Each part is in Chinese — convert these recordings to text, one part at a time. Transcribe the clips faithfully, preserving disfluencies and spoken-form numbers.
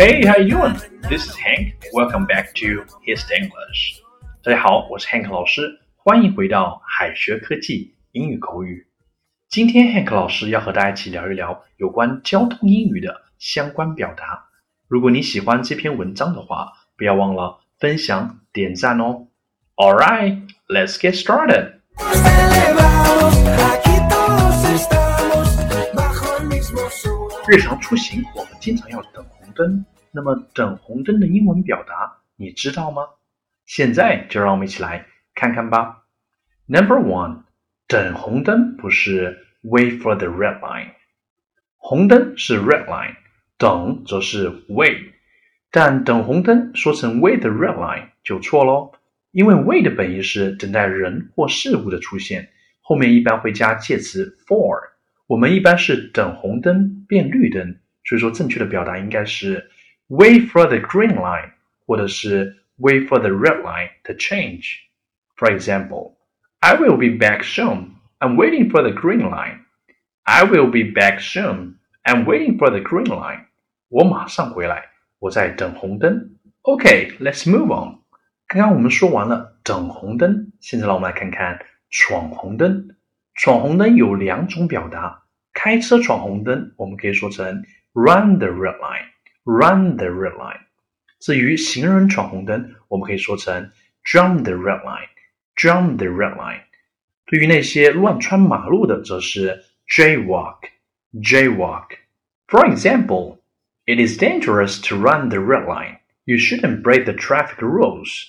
Hey, how you doing? This is Hank. Welcome back to His English. 大家好，我是 Hank 老师，欢迎回到海学科技英语口语。今天 Hank 老师要和大家一起聊一聊有关交通英语的相关表达。如果你喜欢这篇文章的话，不要忘了分享、点赞哦。Alright, let's get started. 日常出行我们经常要等红灯，那么等红灯的英文表达你知道吗？现在就让我们一起来看看吧。Number one, 等红灯不是 wait for the red line. 红灯是 red line, 等则是 wait. 但等红灯说成 wait the red line 就错咯，因为 wait 的本意是等待人或事物的出现，后面一般会加介词 for。我们一般是等红灯变绿灯，所以说正确的表达应该是 wait for the green line 或者是 wait for the red line to change. For example, I will be back soon. I'm waiting for the green line. I will be back soon. I'm waiting for the green line. 我马上回来，我在等红灯。Okay, let's move on. 刚刚我们说完了等红灯，现在让我们来看看闯红灯。闯红灯有两种表达，开车闯红灯我们可以说成 run the red line, run the red line. 至于行人闯红灯我们可以说成 jump the red line, jump the red line. 对于那些乱穿马路的则是 jaywalk, jaywalk. For example, it is dangerous to run the red line. You shouldn't break the traffic rules.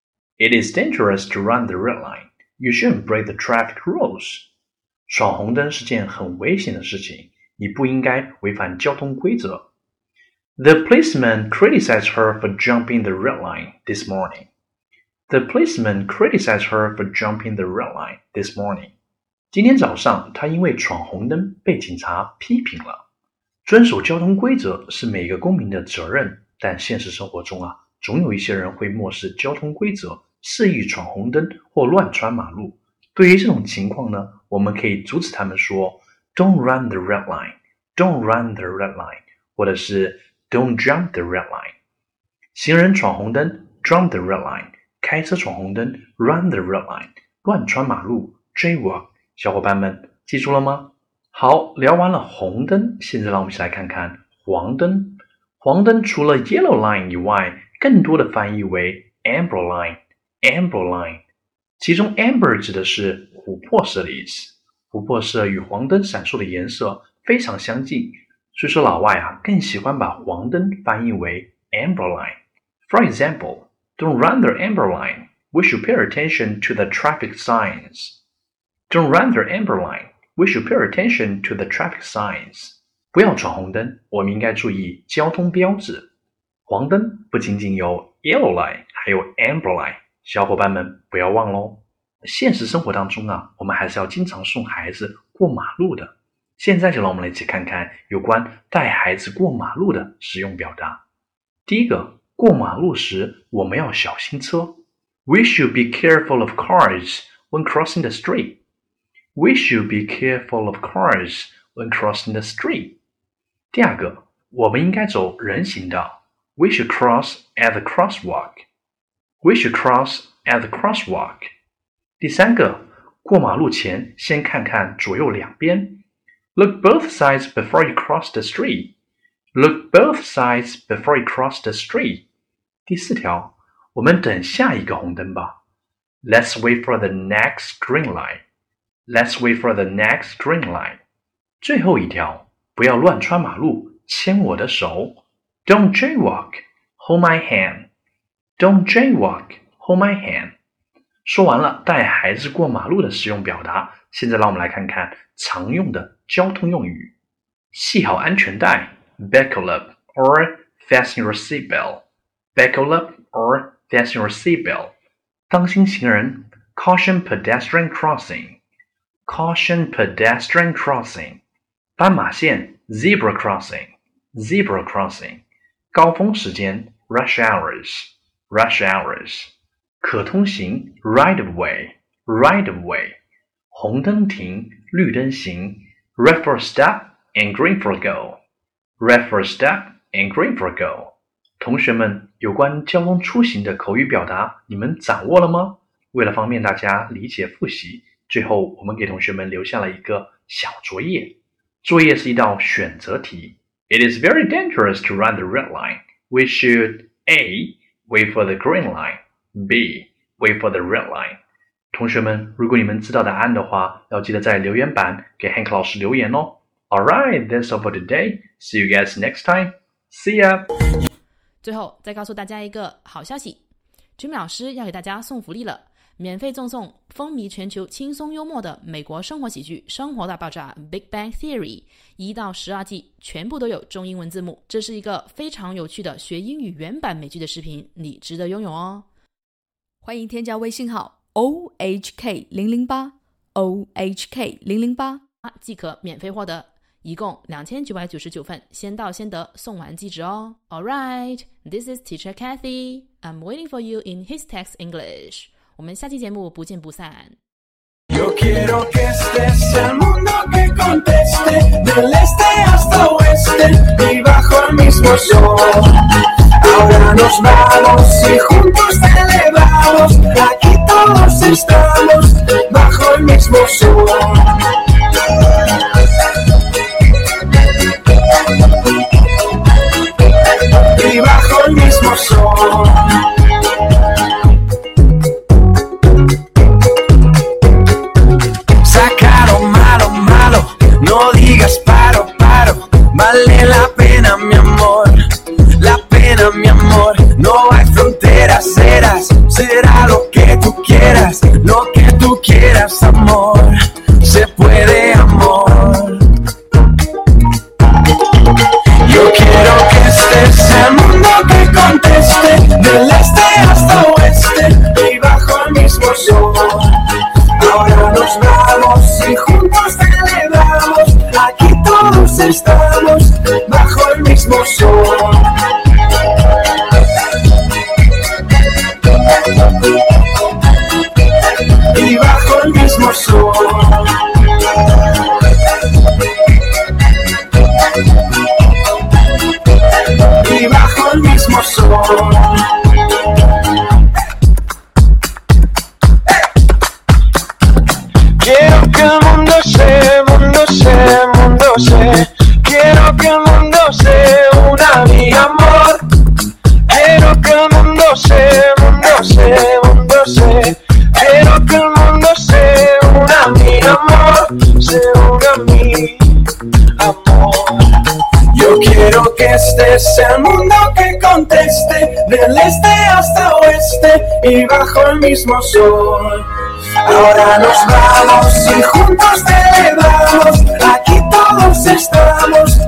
It is dangerous to run the red line. You shouldn't break the traffic rules. 闯红灯是件很危险的事情，你不应该违反交通规则。The policeman criticized her for jumping the red line this morning. The policeman criticized her for jumping the red line this morning. 今天早上，他因为闯红灯被警察批评了。遵守交通规则是每个公民的责任，但现实生活中啊，总有一些人会漠视交通规则，肆意闯红灯或乱穿马路。对于这种情况呢，我们可以阻止他们说 Don't run the red line, Don't run the red line, 或者是 Don't jump the red line. 行人闯红灯 Jump the red line, 开车闯红灯 Run the red line, 乱穿马路 Jaywalk. 小伙伴们记住了吗？好，聊完了红灯，现在让我们一起来看看黄灯。黄灯除了 yellow line 以外，更多的翻译为 amber line, amber line. 其中 amber 指的是琥珀色的意思，琥珀色与黄灯闪烁的颜色非常相近，所以说老外啊更喜欢把黄灯翻译为 amber line. For example, don't run the amber line. We should pay attention to the traffic signs. Don't run the amber line. We should pay attention to the traffic signs. 不要闯红灯，我们应该注意交通标志。黄灯不仅仅有 yellow line， 还有 amber line。小伙伴们不要忘咯，现实生活当中啊，我们还是要经常送孩子过马路的。现在就让我们来一起看看有关带孩子过马路的实用表达。第一个，过马路时我们要小心车。We should be careful of cars when crossing the street. We should be careful of cars when crossing the street. 第二个，我们应该走人行道。We should cross at the crosswalk.We should cross at the crosswalk. 第三个，过马路前先看看左右两边。Look both sides before you cross the street. Look both sides before you cross the street. 第四条，我们等下一个红灯吧。Let's wait for the next green light. Let's wait for the next green light. 最后一条，不要乱穿马路，牵我的手。Don't jaywalk. Hold my hand.Don't jaywalk, hold my hand. 说完了带孩子过马路的实用表达，现在让我们来看看常用的交通用语。系好安全带 buckle up or fasten your seatbelt. Buckle up or fasten your seatbelt. 当心行人 caution pedestrian crossing. Caution pedestrian crossing. 斑马线 zebra crossing. Zebra crossing. 高峰时间 rush hours.Rush hours. 可通行 right of way, right of way. 红灯停，绿灯行 red for stop and green for go. Red for stop and green for go. 同学们，有关交通出行的口语表达，你们掌握了吗？为了方便大家理解复习，最后我们给同学们留下了一个小作业。作业是一道选择题。It is very dangerous to run the red line. We should A. Wait for the green line. B. Wait for the red line. 同学们，如果你们知道答案的话，要记得在留言板给 Hank 老师留言哦。Alright, that's all for today. See you guys next time. See ya. 最后再告诉大家一个好消息 Jimmy 老师要给大家送福利了，免费赠送风靡全球轻松幽默的美国生活喜剧《生活大爆炸 Big Bang Theory》一到十二季全部都有中英文字幕，这是一个非常有趣的学英语原版美剧的视频，你值得拥有哦。欢迎添加微信号 O H K 零零八 O H K 零零八 即可免费获得，一共两千九百九十九份，先到先得，送完即止哦。Alright, this is Teacher Kathy. I'm waiting for you in His Text English. 我们下期节目不见不散。 Yo quiero que estés el mundo que conteste, del este hasta oeste y bajo el mismo sol. Ahora nos vamos y juntos celebramos, aquí todos estamos bajo el mismo sol. Y bajo el mismo sol. No digas paro, paro, vale la pena mi amor, la pena mi amor, no hay fronteras, serás, será lo que tú quieras, lo que tú quieras amor, se puede amor. Yo quiero que estés el mundo que conteste, del este hasta oeste y bajo el mismo sol. Ahora nos vamos y juntos celebramos, aquí todos estamos bajo el mismo sol. Y bajo el mismo sol. Y bajo el mismo sol. Quiero que el mundo se, mundo se, mundo se. Quiero que el mundo se una mi amor. Quiero que el mundo se, mundo se, mundo se. Quiero que el mundo se una mi amor, se una mi amor. Yo quiero que estés el mundo que conteste, del este hasta oeste y bajo el mismo sol. Ahora nos vamos y juntos celebramos, aquí todos estamos